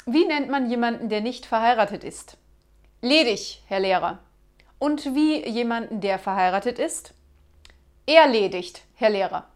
Wie nennt man jemanden, der nicht verheiratet ist? Ledig, Herr Lehrer. Und wie jemanden, der verheiratet ist? Erledigt, Herr Lehrer.